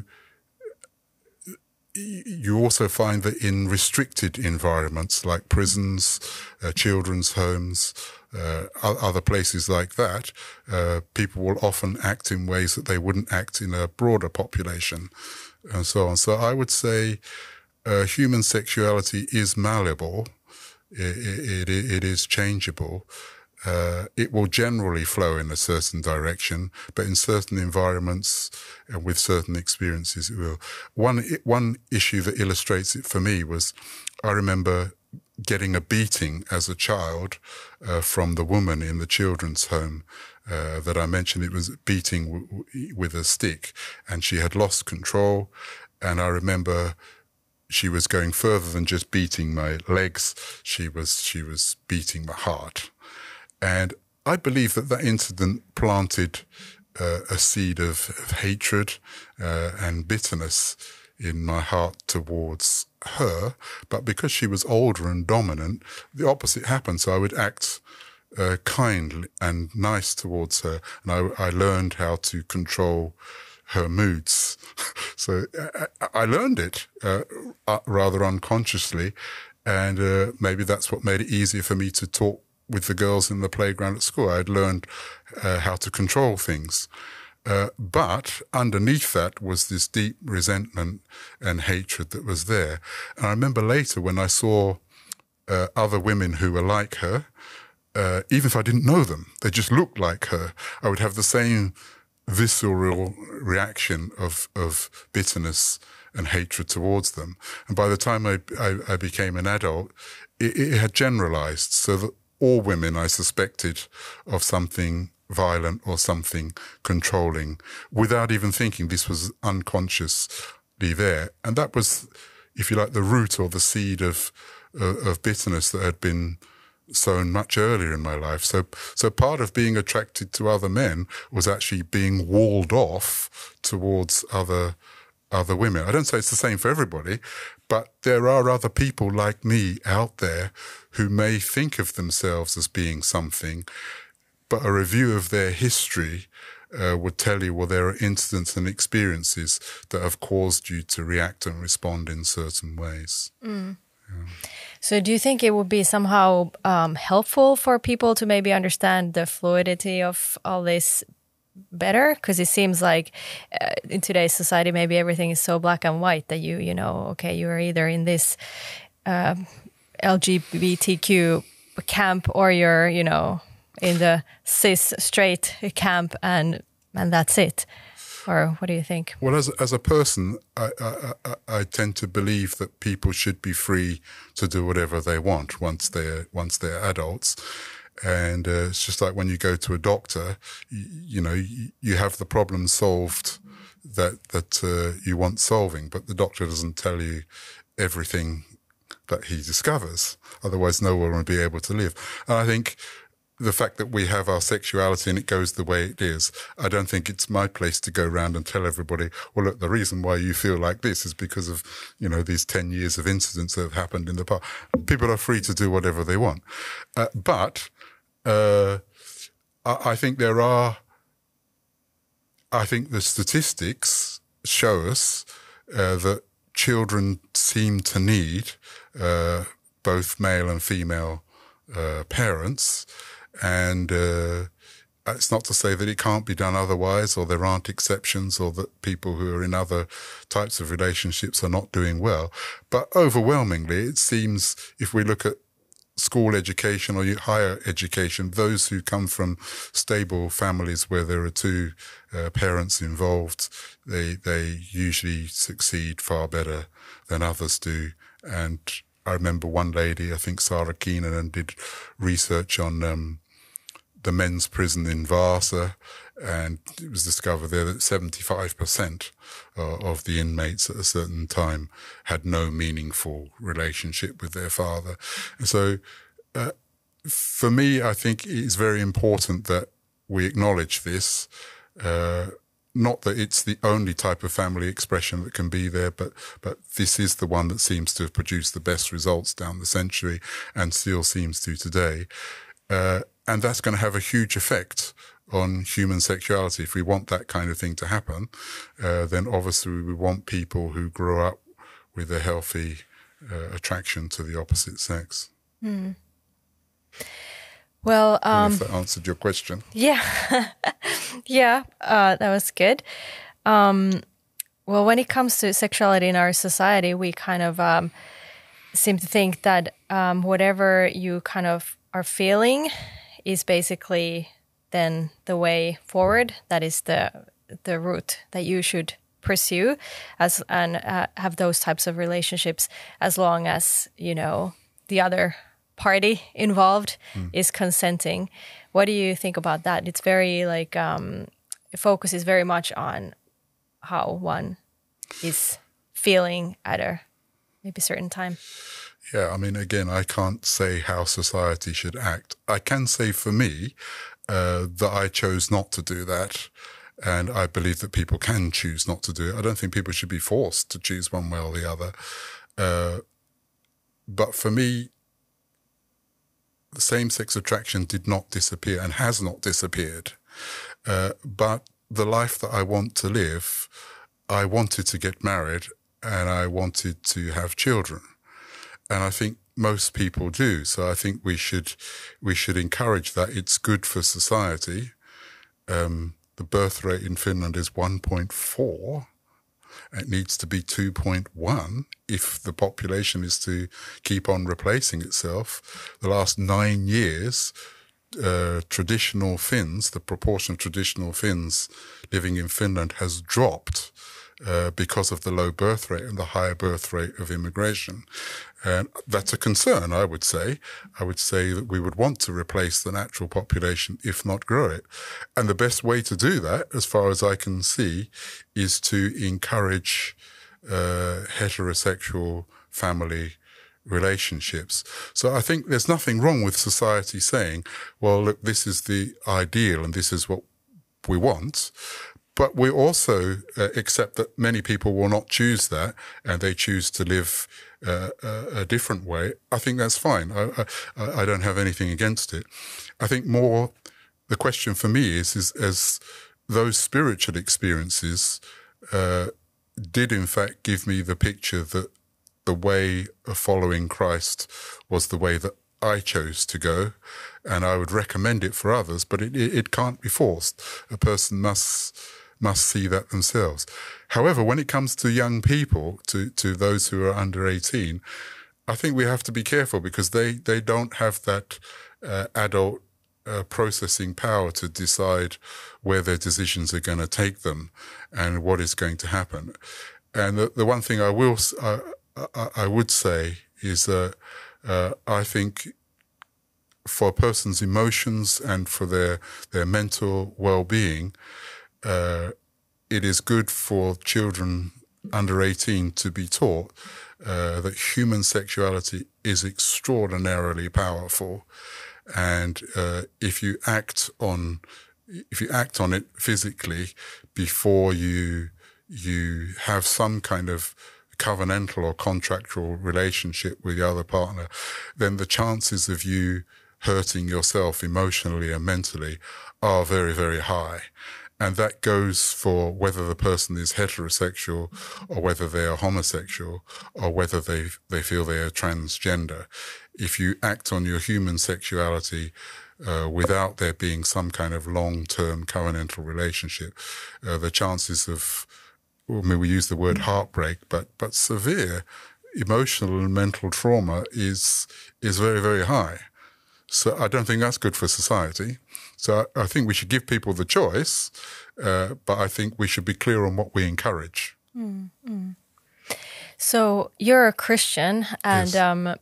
you also find that in restricted environments like prisons, children's homes, other places like that, people will often act in ways that they wouldn't act in a broader population, and so on. So I would say human sexuality is malleable. It is changeable. It will generally flow in a certain direction, but in certain environments and with certain experiences, it will. One issue that illustrates it for me was, I remember getting a beating as a child from the woman in the children's home that I mentioned. It was beating with a stick, and she had lost control. And I remember she was going further than just beating my legs. She was beating my heart. And I believe that incident planted a seed of hatred and bitterness in my heart towards her. But because she was older and dominant, the opposite happened. So I would act kind and nice towards her. And I learned how to control her moods. So I learned it rather unconsciously. And maybe that's what made it easier for me to talk with the girls in the playground at school. I'd learned how to control things. But underneath that was this deep resentment and hatred that was there. And I remember later when I saw other women who were like her, even if I didn't know them, they just looked like her, I would have the same visceral reaction of bitterness and hatred towards them. And by the time I became an adult, it had generalized, so that all women I suspected of something violent or something controlling without even thinking. This was unconsciously there. And that was, if you like, the root or the seed of bitterness that had been sown much earlier in my life. So part of being attracted to other men was actually being walled off towards other women. I don't say it's the same for everybody, but there are other people like me out there who may think of themselves as being something, but a review of their history would tell you, well, there are incidents and experiences that have caused you to react and respond in certain ways. Mm. Yeah. So do you think it would be somehow helpful for people to maybe understand the fluidity of all this better? Because it seems like in today's society, maybe everything is so black and white that you know, okay, you are either in this LGBTQ camp or you're, you know, in the cis straight camp and that's it. Or what do you think? Well, as a person, I tend to believe that people should be free to do whatever they want once they're adults. And it's just like when you go to a doctor, you know, you have the problem solved that you want solving, but the doctor doesn't tell you everything that he discovers. Otherwise, no one would be able to live. And I think the fact that we have our sexuality and it goes the way it is, I don't think it's my place to go around and tell everybody, well, look, the reason why you feel like this is because of, you know, these 10 years of incidents that have happened in the past. People are free to do whatever they want. But I think the statistics show us that children seem to need both male and female parents. And it's not to say that it can't be done otherwise, or there aren't exceptions, or that people who are in other types of relationships are not doing well. But overwhelmingly, it seems, if we look at school education or higher education, those who come from stable families where there are two parents involved, they usually succeed far better than others do. And I remember one lady, I think Sarah Keenan, did research on the men's prison in Vasa, and it was discovered there that 75% of the inmates at a certain time had no meaningful relationship with their father. And so for me, I think it's very important that we acknowledge this. Not that it's the only type of family expression that can be there, but this is the one that seems to have produced the best results down the century and still seems to today. And that's going to have a huge effect on human sexuality. If we want that kind of thing to happen, then obviously we want people who grow up with a healthy attraction to the opposite sex. Mm. Well, if that answered your question. Yeah. Yeah, that was good. Well, when it comes to sexuality in our society, we kind of seem to think that whatever you kind of are feeling is basically then the way forward. That is the route that you should pursue and have those types of relationships as long as, you know, the other party involved is consenting. What do you think about that? It's very like focus is very much on how one is feeling at a maybe certain time. Yeah, I mean, again, I can't say how society should act. I can say for me that I chose not to do that. And I believe that people can choose not to do it. I don't think people should be forced to choose one way or the other. But for me, the same-sex attraction did not disappear and has not disappeared. But the life that I want to live, I wanted to get married and I wanted to have children. And I think most people do. So I think we should encourage that. It's good for society. The birth rate in Finland is 1.4. It needs to be 2.1 if the population is to keep on replacing itself. The last 9 years, traditional Finns, the proportion of traditional Finns living in Finland has dropped because of the low birth rate and the higher birth rate of immigration. And that's a concern, I would say. I would say that we would want to replace the natural population, if not grow it. And the best way to do that, as far as I can see, is to encourage heterosexual family relationships. So I think there's nothing wrong with society saying, well, look, this is the ideal and this is what we want. But we also accept that many people will not choose that and they choose to live a different way. I think that's fine. I don't have anything against it. I think more the question for me is as those spiritual experiences did in fact give me the picture that the way of following Christ was the way that I chose to go, and I would recommend it for others, but it can't be forced. A person must see that themselves. However, when it comes to young people, to those who are under 18, I think we have to be careful because they don't have that adult processing power to decide where their decisions are going to take them and what is going to happen. And the one thing I would say is that I think for a person's emotions and for their mental well-being, it is good for children under 18 to be taught that human sexuality is extraordinarily powerful, and if you act on it physically before you have some kind of covenantal or contractual relationship with the other partner, then the chances of you hurting yourself emotionally and mentally are very, very high. And that goes for whether the person is heterosexual or whether they are homosexual or whether they feel they are transgender. If you act on your human sexuality without there being some kind of long-term covenantal relationship, the chances of, we use the word heartbreak, but severe emotional and mental trauma is very, very high. So I don't think that's good for society. So I think we should give people the choice, but I think we should be clear on what we encourage. Mm-hmm. So you're a Christian, and yes.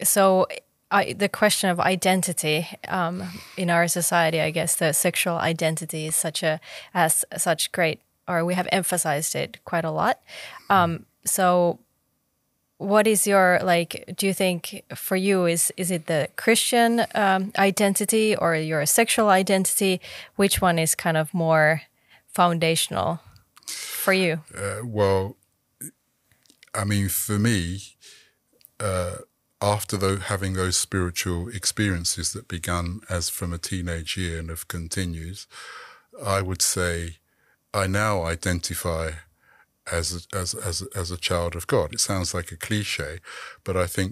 The question of identity in our society, I guess the sexual identity is such great, or we have emphasized it quite a lot. So what is your, do you think for you, is it the Christian identity or your sexual identity? Which one is kind of more foundational for you? Well, I mean, for me, after having those spiritual experiences that began as from a teenage year and have continued, I would say I now identify as a child of God. It sounds like a cliche, but I think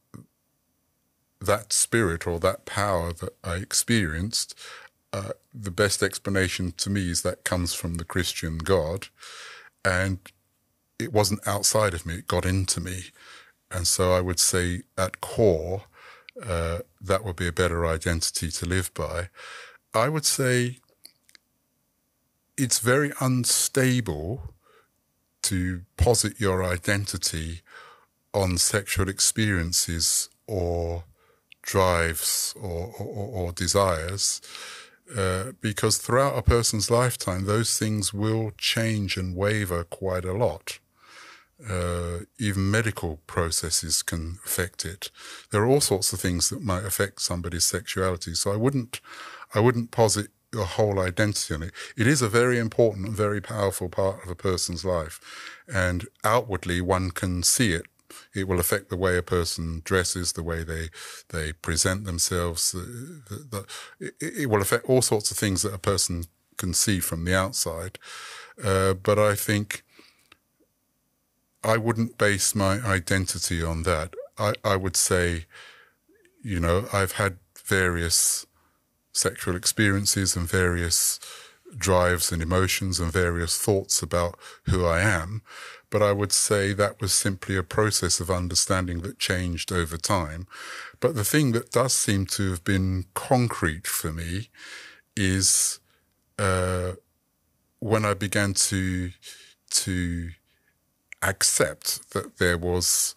that spirit or that power that I experienced, the best explanation to me is that comes from the Christian God, and it wasn't outside of me, it got into me. And so I would say at core, that would be a better identity to live by. I would say it's very unstable to posit your identity on sexual experiences or drives or desires, because throughout a person's lifetime, those things will change and waver quite a lot. Even medical processes can affect it. There are all sorts of things that might affect somebody's sexuality. So I wouldn't posit your whole identity on it. It is a very important and very powerful part of a person's life. And outwardly, one can see it. It will affect the way a person dresses, the way they present themselves. It will affect all sorts of things that a person can see from the outside. But I think I wouldn't base my identity on that. I would say, you know, I've had various sexual experiences and various drives and emotions and various thoughts about who I am. But I would say that was simply a process of understanding that changed over time. But the thing that does seem to have been concrete for me is when I began to accept that there was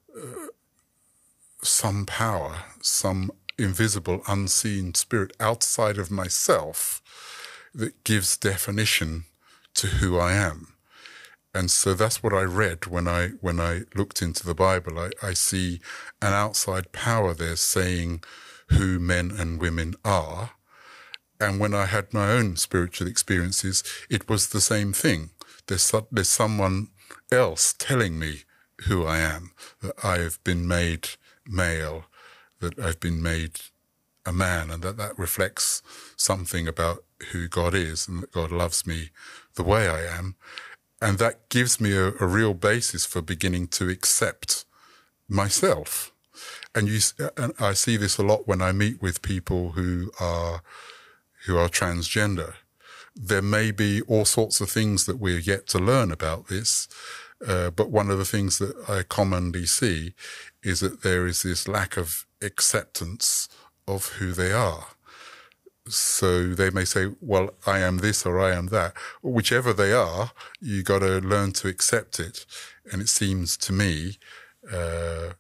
some power, some invisible, unseen spirit outside of myself that gives definition to who I am. And so that's what I read when I looked into the Bible. I see an outside power there saying who men and women are. And when I had my own spiritual experiences, it was the same thing. There's someone else telling me who I am, that I have been made male, that I've been made a man, and that reflects something about who God is and that God loves me the way I am. And that gives me a real basis for beginning to accept myself. And I see this a lot when I meet with people who are transgender. There may be all sorts of things that we're yet to learn about this, but one of the things that I commonly see is that there is this lack of acceptance of who they are. So they may say, well, I am this or I am that. Whichever they are, you got to learn to accept it. And it seems to me that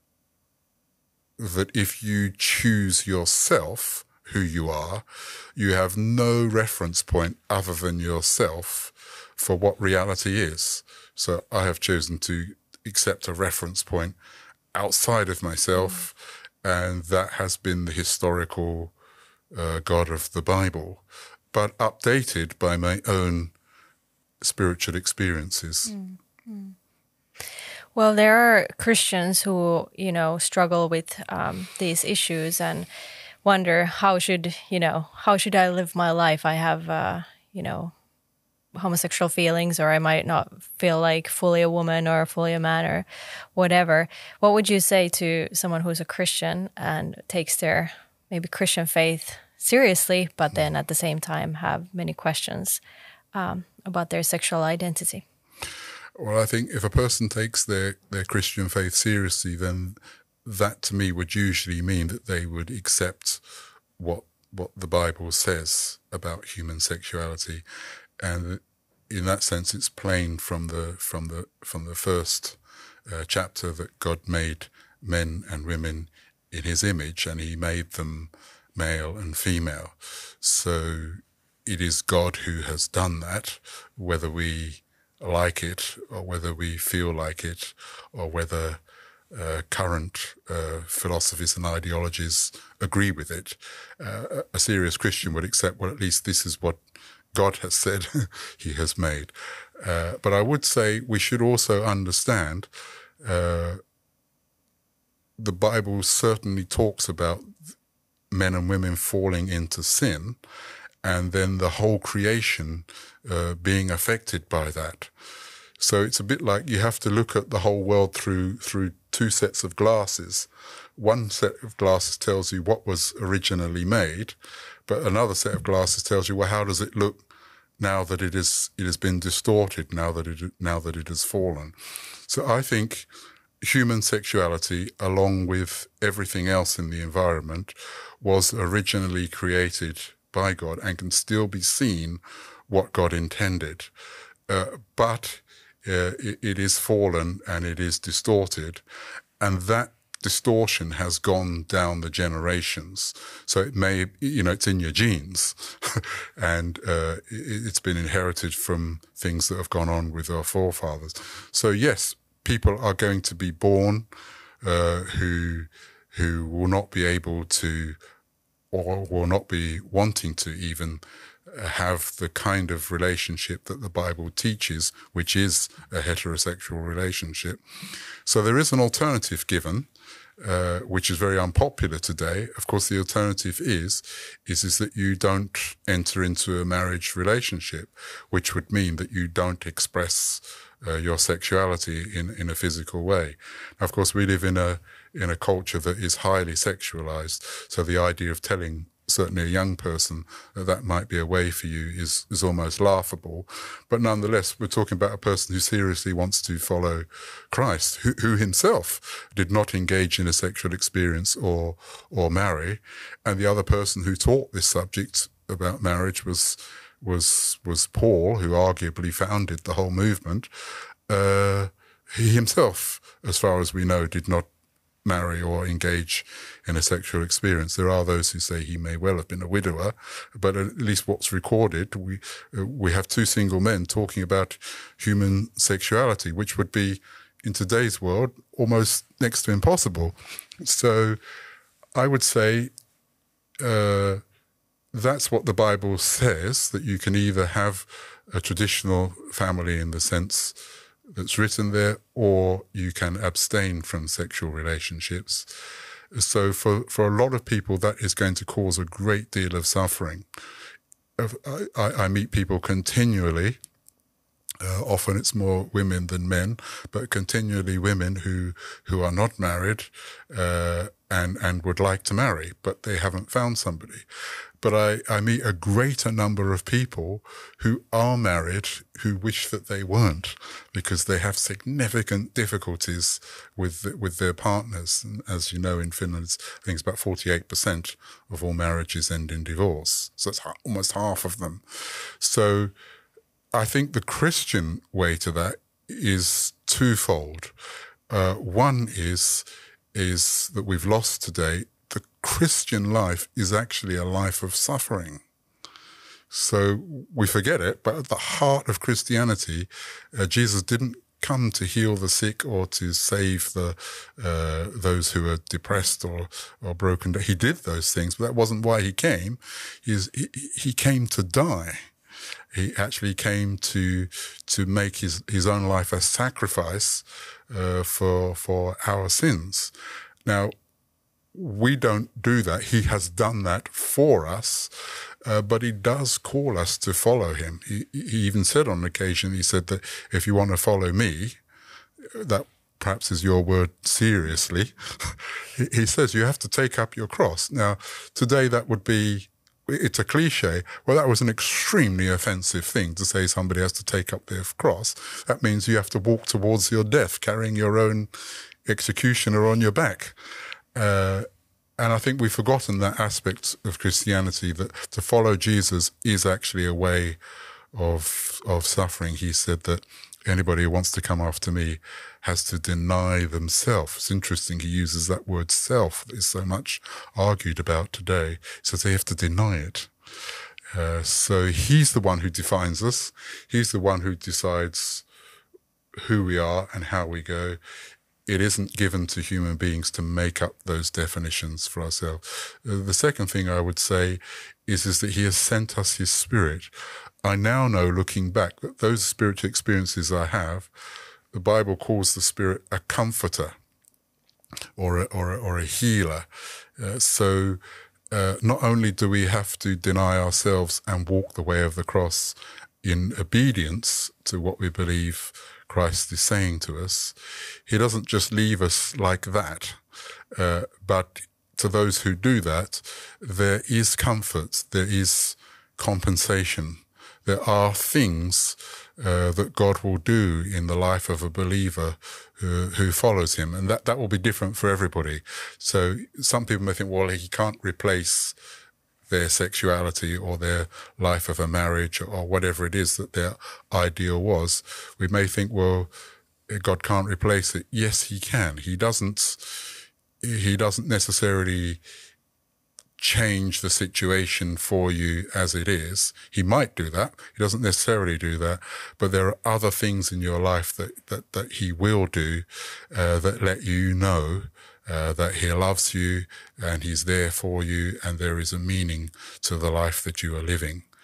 if you choose yourself, who you are, you have no reference point other than yourself for what reality is. So I have chosen to accept a reference point outside of myself, and that has been the historical God of the Bible, but updated by my own spiritual experiences. Well, there are Christians who, you know, struggle with these issues and wonder how should I live my life? I have, homosexual feelings, or I might not feel like fully a woman or fully a man or whatever. What would you say to someone who's a Christian and takes their maybe Christian faith seriously, but then at the same time have many questions about their sexual identity? Well, I think if a person takes their Christian faith seriously, then that to me would usually mean that they would accept what the Bible says about human sexuality. And in that sense, it's plain from the first chapter that God made men and women in his image, and he made them male and female. So it is God who has done that, whether we like it or whether we feel like it, or whether current philosophies and ideologies agree with it. A serious Christian would accept, well, at least this is what God has said he has made. But I would say we should also understand the Bible certainly talks about men and women falling into sin, and then the whole creation being affected by that. So it's a bit like you have to look at the whole world through two sets of glasses. One set of glasses tells you what was originally made, but another set of glasses tells you, well, how does it look now that it has been distorted, now that it has fallen? So I think human sexuality, along with everything else in the environment, was originally created by God and can still be seen what God intended. But it is fallen and it is distorted, and that distortion has gone down the generations. So it may, it's in your genes and it's been inherited from things that have gone on with our forefathers. So yes, people are going to be born who will not be able to, or will not be wanting to even have the kind of relationship that the Bible teaches, which is a heterosexual relationship. So there is an alternative given, which is very unpopular today. Of course, the alternative is that you don't enter into a marriage relationship, which would mean that you don't express your sexuality in a physical way. Now, of course, we live in a culture that is highly sexualized. So the idea of telling certainly a young person that might be a way for you is almost laughable. But nonetheless, we're talking about a person who seriously wants to follow Christ, who himself did not engage in a sexual experience or marry. And the other person who taught this subject about marriage was Paul, who arguably founded the whole movement. He himself, as far as we know, did not marry or engage in a sexual experience. There are those who say he may well have been a widower, but at least what's recorded, we have two single men talking about human sexuality, which would be, in today's world, almost next to impossible. So I would say that's what the Bible says, that you can either have a traditional family in the sense that's written there, or you can abstain from sexual relationships. So for a lot of people, that is going to cause a great deal of suffering. I meet people continually, often it's more women than men, but continually women who are not married and would like to marry, but they haven't found somebody. But I meet a greater number of people who are married who wish that they weren't, because they have significant difficulties with their partners. And as you know, in Finland, I think it's about 48% of all marriages end in divorce. So it's almost half of them. So I think the Christian way to that is twofold. One is that we've lost today. The Christian life is actually a life of suffering. So we forget it, but at the heart of Christianity, Jesus didn't come to heal the sick or to save those who are depressed or broken. He did those things, but that wasn't why he came. He came to die. He actually came to make his own life a sacrifice for our sins. Now, we don't do that. He has done that for us, but he does call us to follow him. He even said on occasion, he said that if you want to follow me, that perhaps is your word, seriously, he says you have to take up your cross. Now, today that would be, it's a cliche. Well, that was an extremely offensive thing to say somebody has to take up their cross. That means you have to walk towards your death, carrying your own executioner on your back. And I think we've forgotten that aspect of Christianity, that to follow Jesus is actually a way of suffering. He said that anybody who wants to come after me has to deny themselves. It's interesting he uses that word self that is so much argued about today. He says they have to deny it. So he's the one who defines us. He's the one who decides who we are and how we go. It isn't given to human beings to make up those definitions for ourselves. The second thing I would say is that he has sent us his Spirit. I now know, looking back, that those spiritual experiences I have, the Bible calls the Spirit a comforter or a healer. So not only do we have to deny ourselves and walk the way of the cross in obedience to what we believe Christ is saying to us, he doesn't just leave us like that. But to those who do that, there is comfort, there is compensation. There are things that God will do in the life of a believer who follows him. And that will be different for everybody. So some people may think, well, he can't replace their sexuality or their life of a marriage or whatever it is that their ideal was. We may think, well, God can't replace it. Yes, he can. He doesn't necessarily change the situation for you as it is. He might do that. He doesn't necessarily do that. But there are other things in your life that he will do that let you know that he loves you and he's there for you, and there is a meaning to the life that you are living.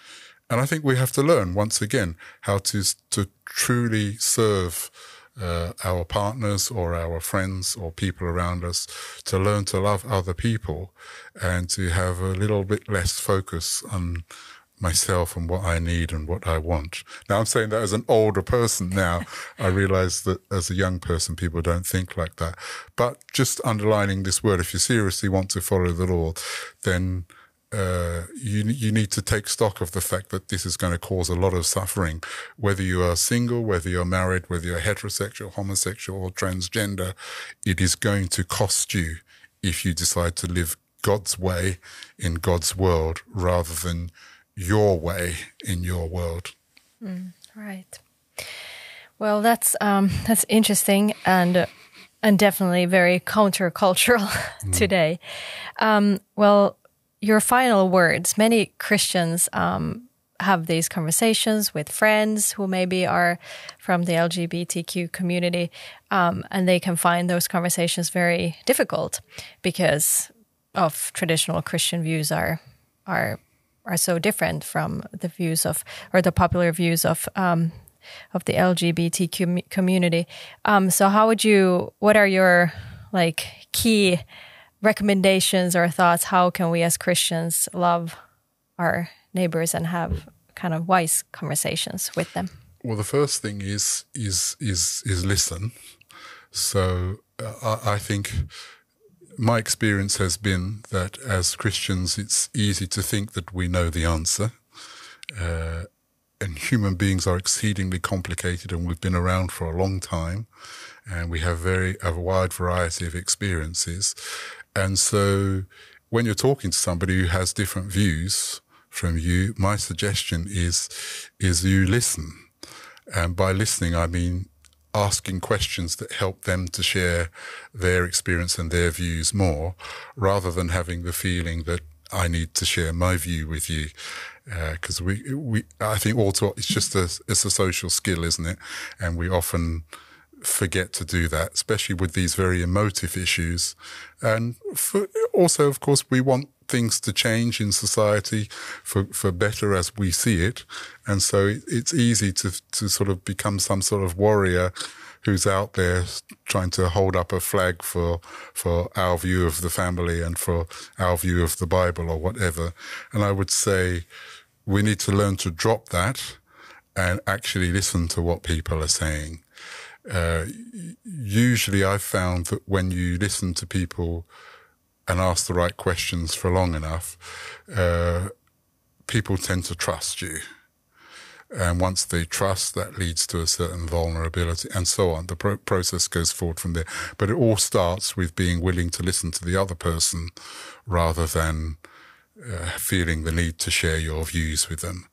And I think we have to learn, once again, how to truly serve our partners or our friends or people around us, to learn to love other people and to have a little bit less focus on myself and what I need and what I want. Now, I'm saying that as an older person now. I realize that as a young person, people don't think like that. But just underlining this word, if you seriously want to follow the Lord, then you need to take stock of the fact that this is going to cause a lot of suffering, whether you are single, whether you're married, whether you're heterosexual, homosexual, or transgender. It is going to cost you if you decide to live God's way in God's world rather than your way in your world. Right. Well, that's interesting and definitely very countercultural today. Well, your final words. Many Christians have these conversations with friends who maybe are from the LGBTQ community, and they can find those conversations very difficult because of traditional Christian views are so different from the views of, or the popular views of the LGBTQ community. So what are your key recommendations or thoughts? How can we as Christians love our neighbors and have kind of wise conversations with them? Well, the first thing is listen. So I think my experience has been that as Christians, it's easy to think that we know the answer. And human beings are exceedingly complicated, and we've been around for a long time, and we have a wide variety of experiences. And so when you're talking to somebody who has different views from you, my suggestion is you listen. And by listening, I mean asking questions that help them to share their experience and their views more, rather than having the feeling that I need to share my view with you. Because I think also it's just it's a social skill, isn't it? And we often forget to do that, especially with these very emotive issues. And also, of course, we want things to change in society for better as we see it. And so it's easy to sort of become some sort of warrior who's out there trying to hold up a flag for our view of the family and for our view of the Bible or whatever. And I would say we need to learn to drop that and actually listen to what people are saying. Usually I've found that when you listen to people and ask the right questions for long enough, people tend to trust you. And once they trust, that leads to a certain vulnerability and so on. The process goes forward from there. But it all starts with being willing to listen to the other person rather than feeling the need to share your views with them.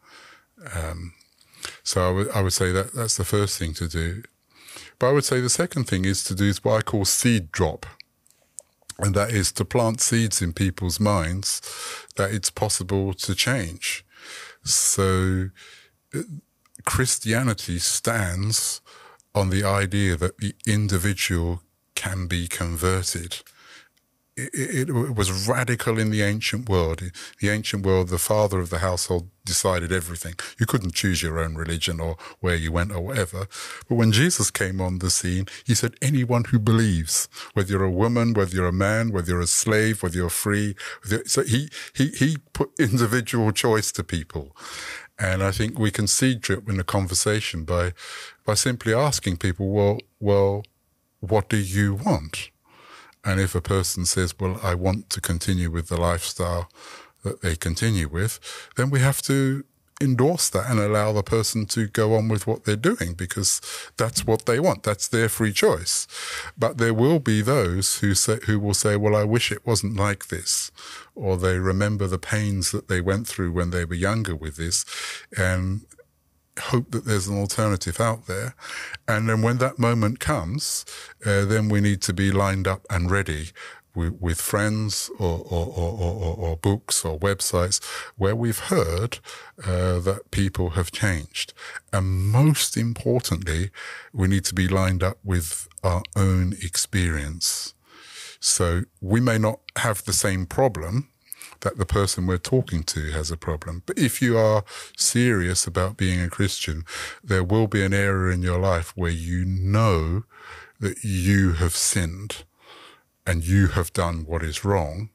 So I would say that's the first thing to do. But I would say the second thing is to do what I call seed drop. And that is to plant seeds in people's minds that it's possible to change. So Christianity stands on the idea that the individual can be converted. It was radical in the ancient world. In the ancient world, the father of the household decided everything. You couldn't choose your own religion or where you went or whatever. But when Jesus came on the scene, he said, anyone who believes, whether you're a woman, whether you're a man, whether you're a slave, whether you're free. So he put individual choice to people. And I think we can seed drip in a conversation by simply asking people, well, what do you want? And if a person says, well, I want to continue with the lifestyle that they continue with, then we have to endorse that and allow the person to go on with what they're doing, because that's what they want. That's their free choice. But there will be those who will say, well, I wish it wasn't like this, or they remember the pains that they went through when they were younger with this, and hope that there's an alternative out there. And then when that moment comes, then we need to be lined up and ready with friends or books or websites where we've heard that people have changed. And most importantly, we need to be lined up with our own experience. So we may not have the same problem that the person we're talking to has a problem. But if you are serious about being a Christian, there will be an area in your life where you know that you have sinned and you have done what is wrong.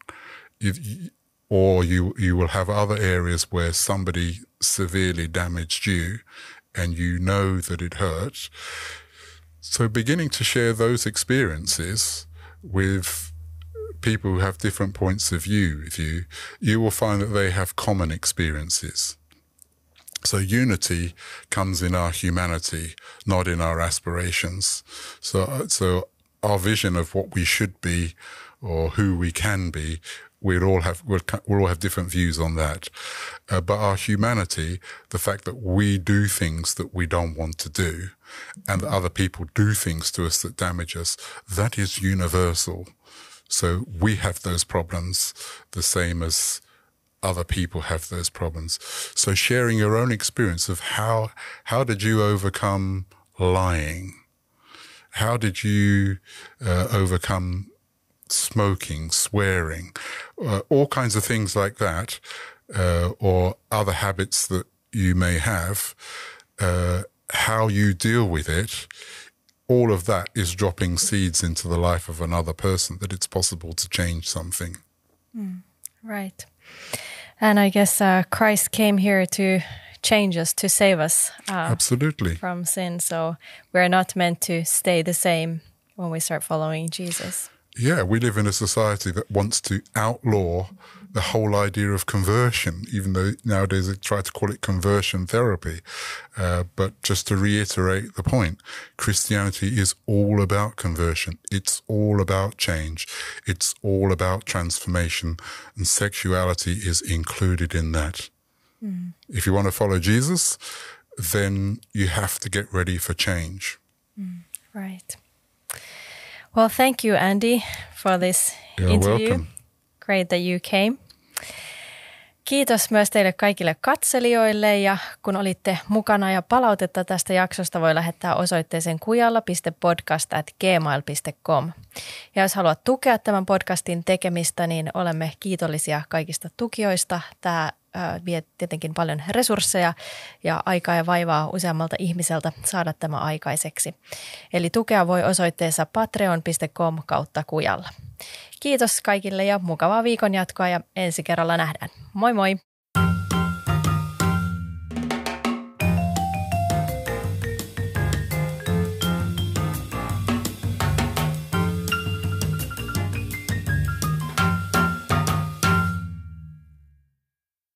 Or you will have other areas where somebody severely damaged you and you know that it hurt. So beginning to share those experiences with people who have different points of view with you, you will find that they have common experiences. So unity comes in our humanity, not in our aspirations. So our vision of what we should be or who we can be, we'll all have different views on that. But our humanity, the fact that we do things that we don't want to do and that other people do things to us that damage us, that is universal. So we have those problems the same as other people have those problems. So sharing your own experience of how did you overcome lying? How did you overcome smoking, swearing, all kinds of things like that, or other habits that you may have, how you deal with it, all of that is dropping seeds into the life of another person, that it's possible to change something. Right. And I guess Christ came here to change us, to save us Absolutely. From sin. So we're not meant to stay the same when we start following Jesus. Yeah, we live in a society that wants to outlaw the whole idea of conversion, even though nowadays they try to call it conversion therapy. But just to reiterate the point, Christianity is all about conversion. It's all about change. It's all about transformation. And sexuality is included in that. If you want to follow Jesus, then you have to get ready for change. Right. Well, thank you, Andy, for this interview. Welcome. Great that you came. Kiitos myös teille kaikille katselijoille ja kun olitte mukana ja palautetta tästä jaksosta voi lähettää osoitteeseen kujalla.podcast@gmail.com. Ja jos haluat tukea tämän podcastin tekemistä, niin olemme kiitollisia kaikista tukijoista. Tämä vie tietenkin paljon resursseja ja aikaa ja vaivaa useammalta ihmiseltä saada tämä aikaiseksi. Eli tukea voi osoitteessa patreon.com/kujalla. Kiitos kaikille ja mukavaa viikon jatkoa ja ensi kerralla nähdään. Moi moi!